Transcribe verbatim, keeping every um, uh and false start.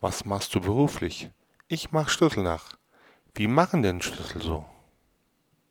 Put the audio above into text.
Was machst du beruflich? Ich mach Schlüssel nach. Wie machen denn Schlüssel so?